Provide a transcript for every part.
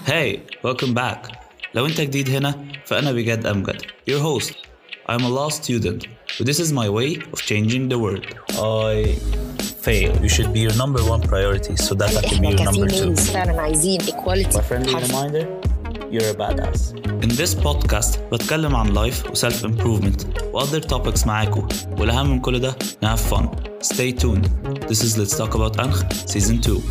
Hey, welcome back. لو انت جديد هنا فأنا بجد أمجد, your host. I'm a law student, but this is my way of changing the world. I fail. You should be your number one priority so that I can be your number two. فعلا عايزين equality. My friendly reminder, you're a badass. In this podcast بتكلم عن life و self-improvement و other topics معاكم, والأهم من كل ده have fun. Stay tuned. This is Let's Talk About أنخ Season 2.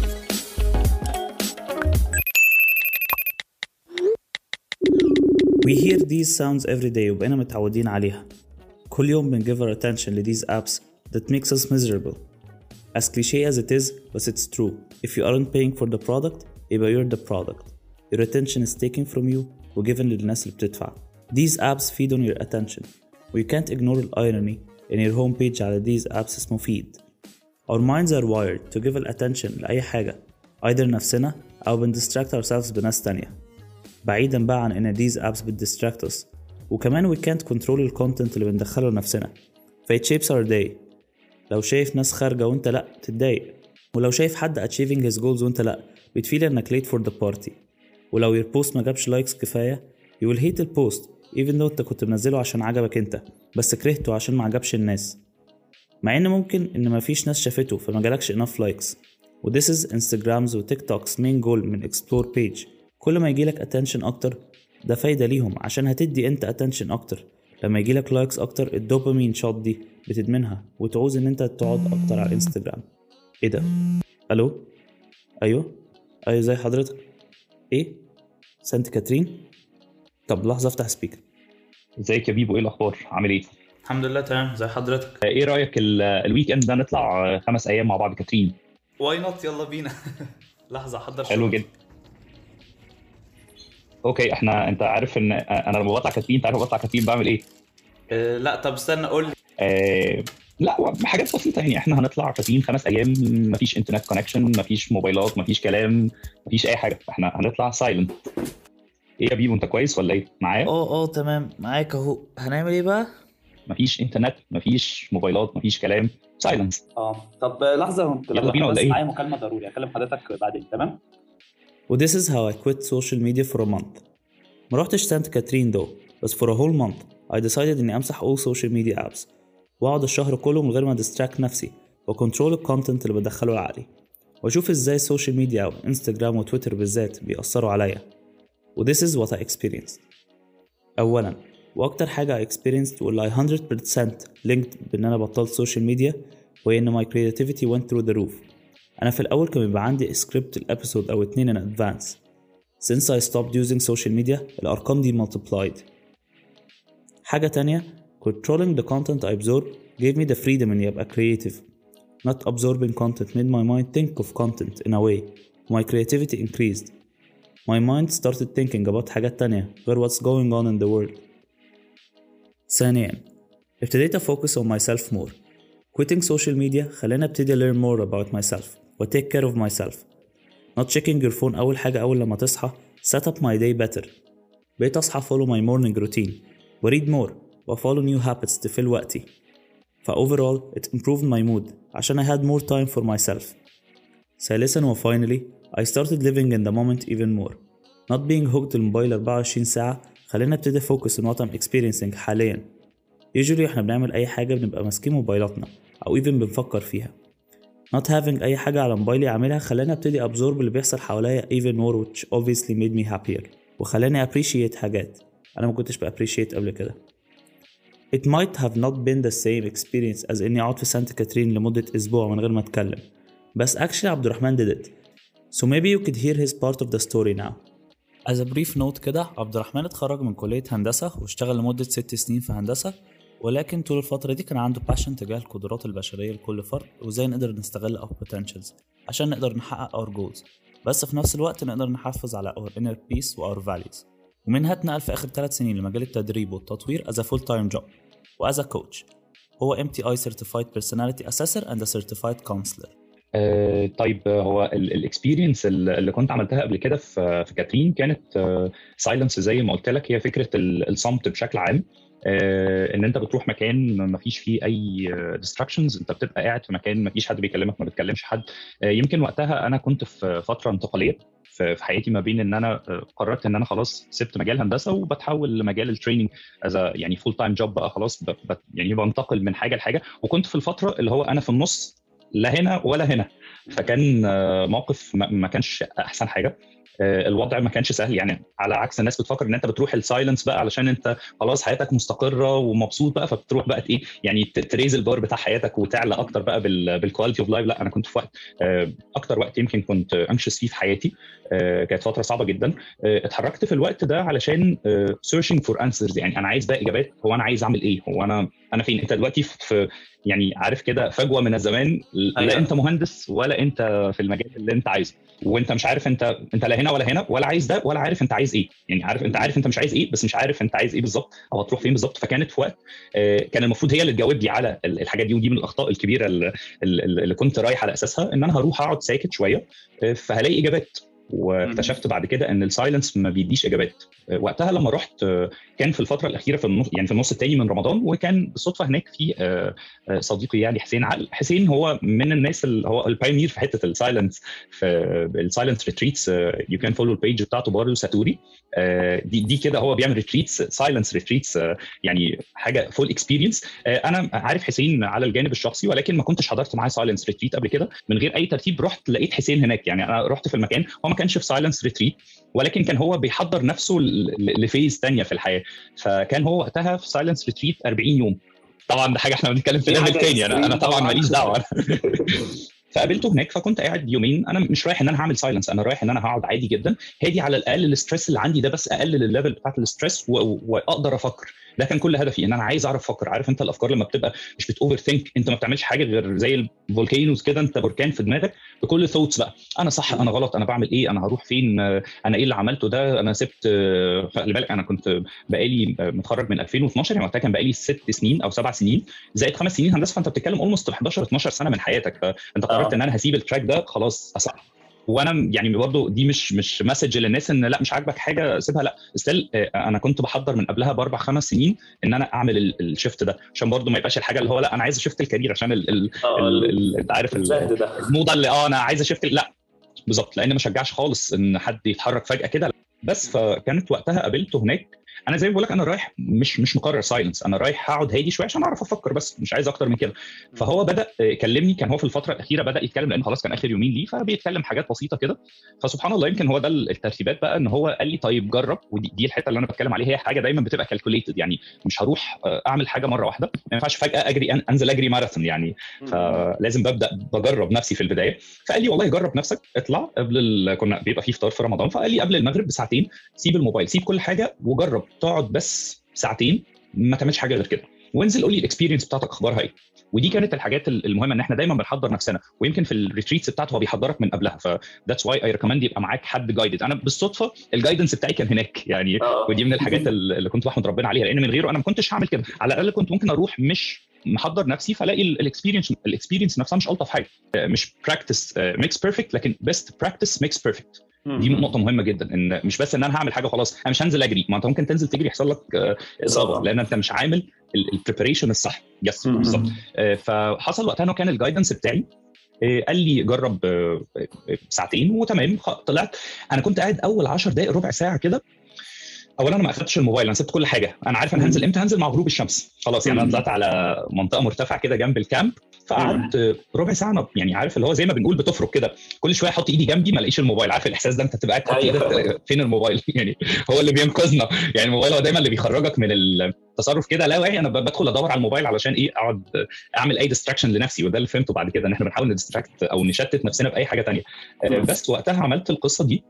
We hear these sounds every day وبقينا متعودين عليها. كل يوم بنgive our attention to these apps that makes us miserable. As cliché as it is, but it's true. If you aren't paying for the product, يبقى you're the product. Your attention is taken from you وgiven للناس اللي بتدفع. These apps feed on your attention. We can't ignore the irony in your homepage على these apps اسمه feed. Our minds are wired to give attention لأي حاجة, either نفسنا أو بنdistract ourselves بناس تانية. بعيدا بقى عن ان these apps بتdistract us, وكمان we can't control الكونتنت اللي بندخله لنفسنا, it shapes our day. لو شايف ناس خارجة وانت لا تتضايق, ولو شايف حد achieving his goals وانت لا بتفيل انك late for the party, ولو your post ما جابش لايكس كفاية you will hate the post even though انت كنت منزله عشان عجبك انت بس كرهته عشان ما عجبش الناس, مع ان ممكن ان ما فيش ناس شافته فما جالكش enough likes. و this is Instagrams و TikToks main goal من explore page. كل ما يجيلك attention أكتر ده فايدة ليهم عشان هتدي أنت attention أكتر. لما يجيلك لايكس أكتر الدوبامين شوت دي بتدمنها وتعوز أن أنت تقعد أكتر على الانستجرام. إيه ده؟ ألو؟ أيوه زي حضرتك. إيه؟ سانت كاترين؟ طب لحظة افتح سبيكر. ازيك يا بيبو, ايه الاخبار, عامل ايه؟ الحمد لله تمام, زي حضرتك. ايه رايك الويك اند ده نطلع 5 ايام مع بعض كاترين؟ واي نوت, يلا بينا. لحظة حضر. حلو جدا. اوكي, انت عارف ان انا لما بطلع كاترين, تعرف بطلع كاترين بعمل ايه؟ لا طب استنى قول لي. لا حاجات بسيطه يعني. احنا هنطلع كاترين 5 ايام, مفيش انترنت كونكشن, مفيش موبايلات, مفيش كلام, مفيش اي حاجه. احنا هنطلع سايلنت. ايه يا بيبو, انت كويس ولا ايه معايا؟ تمام معاك اهو. هنعمل ايه بقى؟ مفيش انترنت, مفيش موبايلات, مفيش كلام, سايلنس. طب لحظه, يلا بينا ولا ايه؟ معايا مكالمه ضروري, اكلم حضرتك بعدين. تمام. و this is how I quit social media for a month. ما روحتش سانت كاترين though, بس for a whole month I decided اني امسح all social media apps واقعد الشهر كله من غير ما distract نفسي وكنترول الكونتنت اللي بدخله لعقلي, واشوف ازاي السوشيال ميديا او انستجرام وتويتر بالذات بيأثروا عليا. و this is what I experienced. اولا واكتر حاجة I experienced واللي I 100% linked بان انا بطلت social media وهي ان my creativity went through the roof. أنا في الأول كان بيبقى عندي سكريبت الأبيسود أو 2 in advance. Since I stopped using social media الأرقام دي multiplied. حاجة تانية, controlling the content I absorb gave me the freedom إني أبقى creative. Not absorbing content made my mind think of content in a way. My creativity increased. My mind started thinking about حاجات تانية غير what's going on in the world. ثانيا, ابتديت أفوكس on myself more. Quitting social media خلاني ابتدي learn more about myself و take care of myself. Not checking your phone أول حاجة أول لما تصحى set up my day better. بقيت أصحى follow my morning routine و read more و follow new habits تفل وقتي. overall it improved my mood عشان I had more time for myself. ثالثا و finally I started living in the moment even more. Not being hooked الموبايل 24 ساعة خلاني ابتدي focus on what I'm experiencing حاليا. usually احنا بنعمل أي حاجة بنبقى ماسكين موبايلاتنا أو even بنفكر فيها. Not having أي حاجة على موبايلي أعملها خلاني أبتدي absorb اللي بيحصل حواليا even more, which obviously made me happier وخلاني appreciate حاجات أنا ما كنتش appreciate قبل كده. It might have not been the same experience as إني أقعد في سانت كاترين لمدة أسبوع من غير ما أتكلم, بس actually عبد الرحمن did it. So maybe you could hear his part of the story now. As a brief note كده, عبد الرحمن اتخرج من كلية هندسة واشتغل لمدة 6 سنين في هندسة, ولكن طول الفترة دي كان عنده passion تجاه القدرات البشرية لكل فرد وازاي نقدر نستغل our potentials عشان نقدر نحقق our goals, بس في نفس الوقت نقدر نحافظ على our inner peace و our values. ومنها اتنقل في آخر 3 سنين لمجال التدريب والتطوير as a full-time job و as a coach. هو MTI Certified Personality Assessor and a Certified Counselor. طيب, هو الاكسبيرينس اللي كنت عملتها قبل كده في كاترين كانت سايلنس زي ما قلت لك. هي فكرة الصمت بشكل عام, ان انت بتروح مكان ما فيش فيه اي distractions, انت بتبقى قاعد في مكان ما فيش حد بيكلمك, ما بتكلمش حد. يمكن وقتها انا كنت في فترة انتقالية, في حياتي ما بين ان انا قررت ان انا خلاص سبت مجال هندسه وبتحول لمجال التريننج يعني فول تايم جوب بقى خلاص، يعني بنتقل من حاجه لحاجه. وكنت في الفتره اللي هو انا في النص، لا هنا ولا هنا. فكان موقف ما كانش احسن حاجه. الوضع ما كانش سهل، يعني على عكس الناس بتفكر ان انت بتروح السايلنس بقى علشان انت خلاص حياتك مستقره ومبسوط بقى، فبتروح بقى ايه يعني تريز البار بتاع حياتك وتعلى اكتر بقى بالكواليتي اوف لايف. لا، انا كنت في وقت اكتر وقت يمكن كنت انكشس فيه في حياتي. كانت فتره صعبه جدا. اتحركت في الوقت ده علشان سيرشنج فور انسرز، يعني انا عايز بقى اجابات. هو انا عايز اعمل ايه؟ هو انا فين؟ انت دلوقتي في يعني عارف كده فجوه من الزمان، لا انت مهندس ولا انت في المجال اللي انت عايزه، وانت مش عارف انت لا هنا ولا هنا، ولا عايز ده ولا عارف انت عايز ايه. يعني عارف انت مش عايز ايه، بس مش عارف انت عايز ايه بالظبط او هتروح فين بالظبط. فكانت في وقت كان المفروض هي اللي تجاوب لي على الحاجات دي، ودي من الاخطاء الكبيره اللي كنت رايح على اساسها، ان انا هروح اقعد ساكت شويه فهلاقي اجابات. واكتشفت بعد كده ان السايلنس ما بيديش اجابات. وقتها لما رحت كان في الفتره الاخيره في النص، يعني في النص الثاني من رمضان، وكان بالصدفه هناك في صديقي يعني حسين عقل. حسين هو من الناس اللي هو البايونير في حته السايلنس، في السايلنت ريتريتس. يو كان فولو البيج بتاعته بارو ساتوري. دي كده هو بيعمل ريتريتس، سايلنس ريتريتس، يعني حاجه فول اكسبيرينس. انا عارف حسين على الجانب الشخصي، ولكن ما كنتش حضرت معاه سايلنس ريتريت قبل كده من غير اي ترتيب. رحت لقيت حسين هناك، يعني انا رحت في المكان، هو ما كانش في سايلنس ريتريت، ولكن كان هو بيحضر نفسه لفيز ثانيه في الحياه. فكان هو وقتها في سايلنس ريتريت 40 يوم. طبعا ده حاجه احنا بنتكلم في ليفل ثاني، انا طبعا ماليش دعوه. فقابلته هناك، فكنت قاعد يومين. انا مش رايح ان انا هعمل سايلنس، انا رايح ان انا هقعد عادي جدا هادي، على الاقل الاسترس اللي عندي ده بس اقلل الليفل بتاعت الاسترس واقدر افكر. ده كان كل هدفي، ان انا عايز اعرف افكر. عارف انت الافكار لما بتبقى مش بتوفر ثينك، انت ما بتعملش حاجه غير زي الفولكينوز كده، انت بركان في دماغك بكل ثوتس بقى. انا صح، انا غلط، انا بعمل ايه، انا هروح فين، انا ايه اللي عملته ده، انا سبت. خلي بالك انا كنت بقالي متخرج من 2012، يعني وقتها كان بقالي 6 سنين او 7 سنين زائد 5 سنين هندسه، فانت بتتكلم اولموست 11 12 سنه من حياتك. فانت قررت ان انا هسيب التراك ده خلاص اصح. وانا يعني برضه دي مش مسج للناس ان لا مش عاجبك حاجه سيبها، لا ستيل. انا كنت بحضر من قبلها ب4 5 سنين ان انا اعمل الشيفت ده، عشان برضه ما يبقاش الحاجه اللي هو لا انا عايز اشيفت الكارير عشان انت عارف الموضه اللي انا عايز اشيفت. لا بالظبط، لان ما شجعش خالص ان حد يتحرك فجاه كده. بس فكانت وقتها قابلته هناك. انا زي ما بقول لك، انا رايح مش مقرر سايلنس، انا رايح اقعد هادي شويه عشان اعرف افكر، بس مش عايز اكتر من كده. فهو بدا يكلمني، كان هو في الفتره الاخيره بدا يتكلم لان خلاص كان اخر يومين ليه، فبيتكلم حاجات بسيطه كده. فسبحان الله يمكن هو ده الترتيبات بقى، ان هو قال لي طيب جرب. ودي الحته اللي انا بتكلم عليها، هي حاجه دايما بتبقى كالكوليتد، يعني مش هروح اعمل حاجه مره واحده، ما ينفعش فجاه انزل اجري ماراثون يعني. فلازم ببدا بجرب نفسي في البدايه. فقال لي والله جرب نفسك، اطلع قبل كنا بيبقى فيه فطار في رمضان، فقال لي قبل المغرب بساعتين سيب الموبايل، سيب كل حاجه، وجرب تقعد بس ساعتين ما تعملش حاجه غير كده، وانزل قول لي الاكسبيرينس بتاعتك اخبارها ايه. ودي كانت الحاجات المهمه، ان احنا دايما بنحضر نفسنا، ويمكن في الريتريتس بتاعته هو بيحضرك من قبلها. فذاتس واي اي ريكومند يبقى معاك حد جايدد. انا بالصدفه الجايدنس بتاعي كان هناك يعني. ودي من الحاجات اللي كنت بحمد ربنا عليها، لان من غيره انا ما كنتش هعمل كده. على الاقل كنت ممكن اروح مش محضر نفسي، فلاقي الاكسبيرينس نفسها مش الطف حاجه. مش براكتس ميكس بيرفكت، لكن بيست براكتس ميكس بيرفكت. دي نقطه مهمه جدا، ان مش بس ان انا هعمل حاجه خلاص، انا مش هنزل اجري. ما انت ممكن تنزل تجري يحصل لك اصابه، لان انت مش عامل البريباريشن الصح. يس بالظبط. فحصل وقتها انه كان الجايدنس بتاعي قال لي جرب ساعتين وتمام. طلعت انا كنت قاعد اول 10 دقائق ربع ساعه كده. اولا انا ما اخدتش الموبايل، انا سبت كل حاجه. انا عارف انا هنزل امتى، هنزل مع غروب الشمس خلاص. يعني انا طلعت على منطقه مرتفعه كده جنب الكامب، فقعدت ربع ساعه. يعني عارف اللي هو زي ما بنقول بتفرك كده، كل شويه احط ايدي جنبي ما الاقيش الموبايل. عارف الاحساس ده، انت تبقى قاعد ايدك فين الموبايل يعني هو اللي بينقذنا. يعني الموبايل هو دايما اللي بيخرجك من التصرف كده لا واعي. انا بدخل ادور على الموبايل علشان ايه؟ اقعد اعمل اي ديستراكشن لنفسي. وده اللي فهمته بعد كده، ان احنا بنحاول نديستراكت او نشتت نفسنا باي حاجه ثانيه. بس وقتها عملت القصه دي.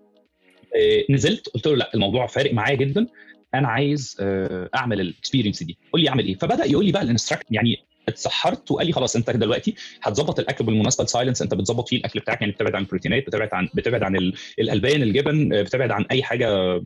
نزلت قلت له لا الموضوع فارق معايا جدا، انا عايز اعمل الاكسبيرينس دي، قول لي اعمل ايه. فبدا يقول لي بقى الانستراكت. يعني اتسحرت وقال لي خلاص انت دلوقتي هتظبط الاكل بالمناسبه. السايلنس انت بتظبط فيه الاكل بتاعك، يعني بتبعد عن البروتينات، بتبعد عن الالبان، الجبن، بتبعد عن اي حاجه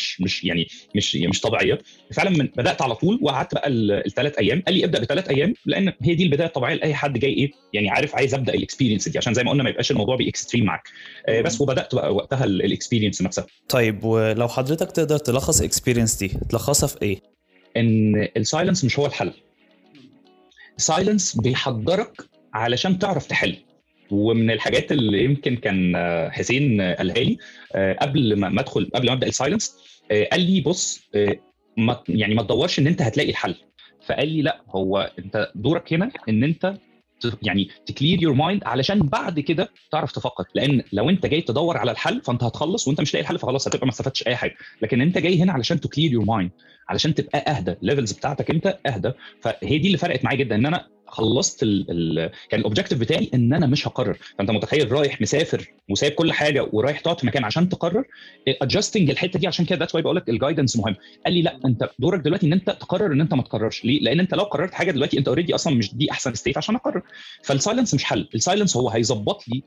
مش طبيعيه. فعلا بدات على طول، وقعدت بقى ال3 ايام. قال لي ابدا ب3 ايام، لان هي دي البدايه الطبيعيه لاي حد جاي ايه يعني عارف عايز ابدا الاكسبيرينس دي، عشان زي ما قلنا ما يبقاش الموضوع باكستريم معاك. بس وبدات بقى وقتها الاكسبيرينس نفسها. طيب ولو حضرتك تقدر تلخص اكسبيرينس دي تلخصها في ايه؟ ان السايلنس مش هو الحل. السايلنس بيحضرك علشان تعرف تحل. ومن الحاجات اللي يمكن كان حسين قالها لي قبل ما ابدا السايلنس، قال لي بص، ما تدورش ان انت هتلاقي الحل. فقال لي لا، هو انت دورك هنا ان انت يعني تكلير يور مايند علشان بعد كده تعرف تفكر. لان لو انت جاي تدور على الحل فانت هتخلص وانت مش لاقي الحل، فخلاص هتبقى ما استفدتش اي حاجه. لكن انت جاي هنا علشان تكلير يور مايند، علشان تبقى اهدى، الليفلز بتاعتك انت اهدى. فهي دي اللي فرقت معايا جدا، ان انا خلصت كان الاوبجيكتيف بتاعي ان انا مش هقرر. فانت متخيل رايح مسافر وسايب كل حاجه ورايح تقعد في مكان عشان تقرر. ادجستنج الحته دي، عشان كده ذاتس واي بقول لك الجايدنس مهم. قال لي لا، انت دورك دلوقتي ان انت تقرر ان انت ما تقررش. ليه؟ لان انت لو قررت حاجه دلوقتي انت اوريدي اصلا مش دي احسن ستيت عشان اقرر. فالسايلنس مش حل، السايلنس هو هيظبط لي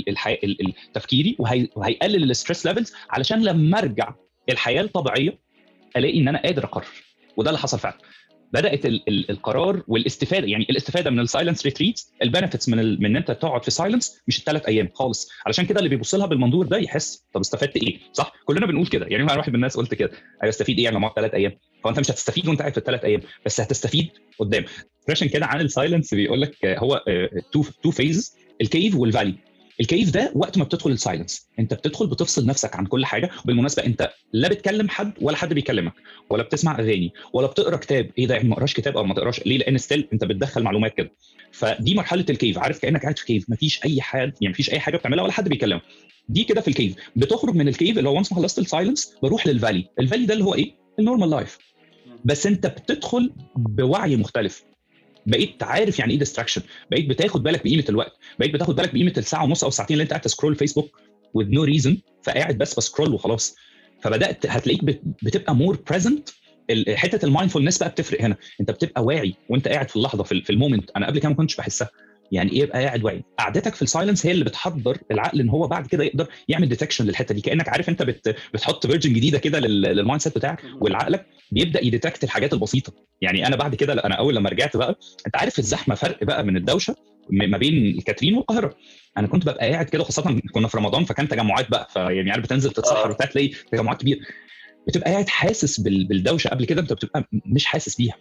تفكيري وهيقلل الستريس ليفلز، علشان لما ارجع الحياه الطبيعيه الاقي ان انا قادر اقرر. وده اللي حصل فعلا. بدات القرار والاستفاده، يعني الاستفاده من السايلنس ريتريتس، البنفيتس من ان انت تقعد في سايلنس مش ال3 ايام خالص. علشان كده اللي بيبص لها بالمنظور ده يحس طب استفدت ايه؟ صح، كلنا بنقول كده. يعني انا واحد من الناس قلت كده، ايوه استفيد ايه لما اقعد 3 ايام؟ فانت مش هتستفيد وانت قاعد في ال3 ايام، بس هتستفيد قدام. فريشن كده عن السايلنس بيقول لك هو تو فيز، الكيف والفالي. الكيف ده وقت ما بتدخل السايلنس انت بتدخل بتفصل نفسك عن كل حاجه. بالمناسبه انت لا بتكلم حد ولا حد بيكلمك، ولا بتسمع اغاني، ولا بتقرا كتاب. ايه ده؟ يعني ما اقراش كتاب او ما تقراش ليه؟ لان ستيل انت بتدخل معلومات كده. فدي مرحله الكيف، عارف، كانك قاعد في كيف، مفيش اي حاجه، يعني مفيش اي حاجه بتعملها ولا حد بيكلمك. دي كده في الكيف. بتخرج من الكيف اللي هو وانس ما خلصت السايلنس بروح للفالي. الفالي ده اللي هو ايه؟ النورمال لايف. بس انت بتدخل بوعي مختلف. بقيت عارف يعني ايه ديستراكشن، بقيت بتاخد بالك بقيمه الوقت، بقيت بتاخد بالك بقيمه الساعه ونص او الساعتين اللي انت قاعد تسكرول فيسبوك with no reason، فقاعد بس بسكرول وخلاص. فبدات هتلاقيك بتبقى مور بريزنت. حته المايندفولنس بقى بتفرق هنا، انت بتبقى واعي وانت قاعد في اللحظه، في المومنت. انا قبل كده ما كنتش بحسها. يعني ايه يبقى قاعد واعي؟ قعدتك في السايلنس هي اللي بتحضر العقل ان هو بعد كده يقدر يعمل ديتكشن للحته دي. كانك عارف انت بتحط فيرجن جديده كده للمايند سيت بتاعك، والعقلك بيبدا يديتكت الحاجات البسيطه. يعني انا بعد كده، انا اول لما رجعت بقى، انت عارف الزحمه فرق بقى من الدوشه ما بين الكاترين والقاهره. انا كنت ببقى قاعد كده، خاصه كنا في رمضان فكان تجمعات بقى، فيعني عارف بتنزل تتسحر وبتاع تلاقي تجمعات كبيره، بتبقى قاعد حاسس بالدوشه. قبل كده انت بتبقى مش حاسس بيها.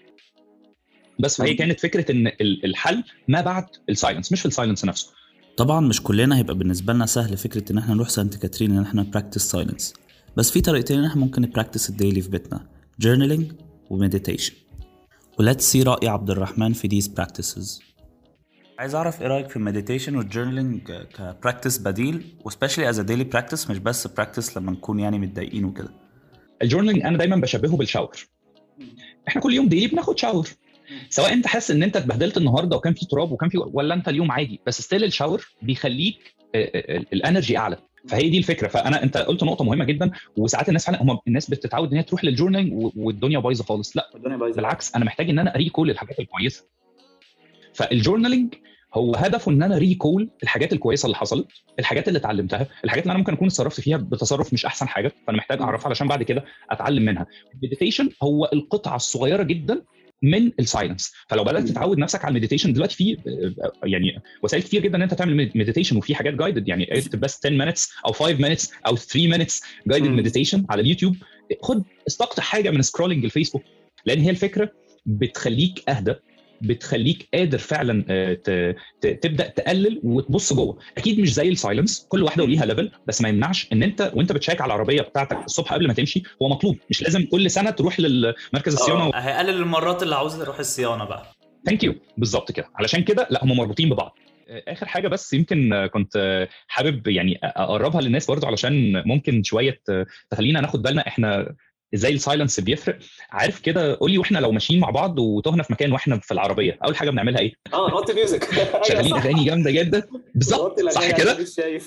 بس فهي كانت فكره ان الحل ما بعد السايلنس مش في السايلنس نفسه. طبعا مش كلنا هيبقى بالنسبه لنا سهل فكره ان احنا نروح سانت كاترين ان احنا براكتس سايلنس، بس في طريقتين ان احنا ممكن نبراكتس الديلي في بيتنا: journaling ومديتيشن. وليتس سي رأي عبد الرحمن في these practices. عايز اعرف ايه رايك في المديتيشن والجورنالينج كبراكتس بديل، وسبيشلي از ا ديلي براكتس، مش بس براكتس لما نكون يعني متضايقين وكده. الجورنالينج انا دايما بشبهه بالشاور. احنا كل يوم ديلي بناخد شاور، سواء انت حاسس ان انت اتبهدلت النهارده وكان في تراب وكان في، ولا انت اليوم عادي، بس ستيل الشاور بيخليك الانرجي اعلى. فهي دي الفكره. انت قلت نقطه مهمه جدا. وساعات الناس فعلا الناس بتتعود ان هي تروح للجورنالينج والدنيا بايظه خالص. لا بالعكس، انا محتاج ان انا اريكول الحاجات الكويسه. فالجورنالينج هو هدفه ان انا ريكول الحاجات الكويسه اللي حصلت، الحاجات اللي اتعلمتها، الحاجات اللي انا ممكن اكون اتصرفت فيها بتصرف مش احسن حاجه، فانا محتاج اعرفها علشان بعد كده اتعلم منها. المديتيشن هو القطعه الصغيره جدا من السايلنس. فلو بدات تتعود نفسك على المديتيشن، دلوقتي في يعني وسائل كتير جدا ان انت تعمل مديتيشن، وفي حاجات جايدد، يعني اكتب بس 10 minutes او 5 minutes او 3 minutes جايدد مديتيشن على اليوتيوب. خد استقطع حاجه من سكرولينج الفيسبوك، لان هي الفكره بتخليك اهدى، بتخليك قادر فعلا تبدا تقلل وتبص جوه. اكيد مش زي السايلنس، كل واحده وليها ليفل، بس ما يمنعش ان انت وانت بتشيك على العربيه بتاعتك الصبح قبل ما تمشي، هو مطلوب. مش لازم كل سنه تروح للمركز الصيانه هيقلل المرات اللي عاوز تروح الصيانه بقى. ثانك يو، بالظبط كده. علشان كده لا، هم مربوطين ببعض. اخر حاجه بس يمكن كنت حابب يعني اقربها للناس برضو، علشان ممكن شويه تخلينا ناخد بالنا احنا ازاي السايلنس بيفرق. عارف كده، قول لي، واحنا لو ماشيين مع بعض وتهنا في مكان واحنا في العربيه، اول حاجه بنعملها ايه؟ نحط ميوزك. شغالين اغاني جامده جدا. بالظبط، صح كده. مش شايف.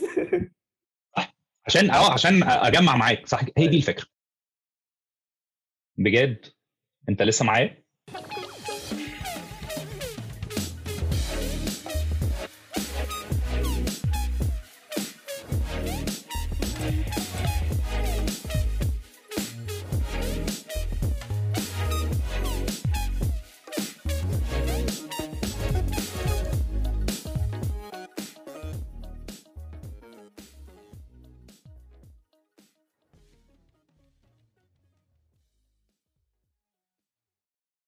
عشان اجمع معاك، صح، هي دي الفكره. بجد انت لسه معايا؟